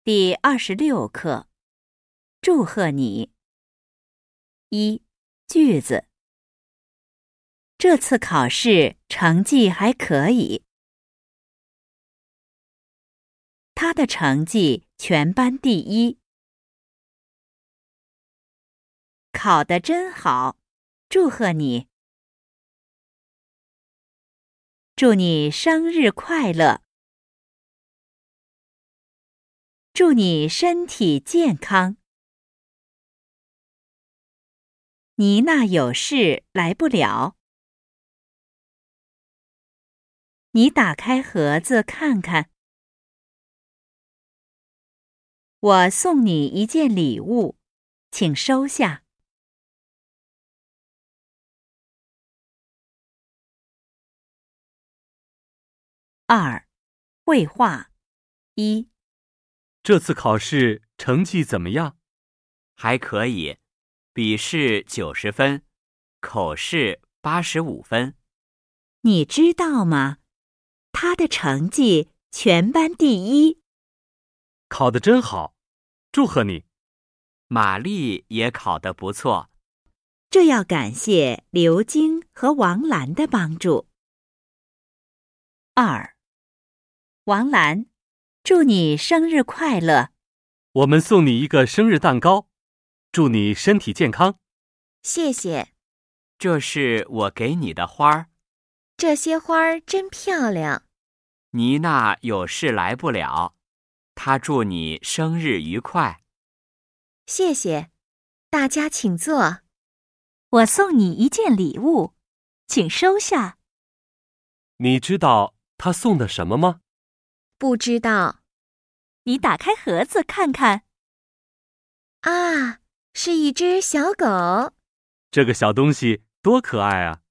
第26课，祝贺你。一、句子。这次考试成绩还可以。他的成绩全班第一。考得真好，祝贺你。祝你生日快乐。祝你身体健康。妮娜有事来不了。你打开盒子看看。我送你一件礼物，请收下。二、绘画。一、 这次考试成绩怎么样？ 还可以，笔试90分，口试85分。 你知道吗？他的成绩全班第一。 考得真好，祝贺你。 玛丽也考得不错。 这要感谢刘晶和王兰的帮助。二、王兰，祝你生日快乐。 我们送你一个生日蛋糕，祝你身体健康。 谢谢。 这是我给你的花儿。 这些花儿真漂亮。 妮娜有事来不了，她祝你生日愉快。 谢谢，大家请坐。 我送你一件礼物，请收下。 你知道他送的什么吗？ 不知道。 你打开盒子看看。 啊，是一只小狗。 这个小东西多可爱啊！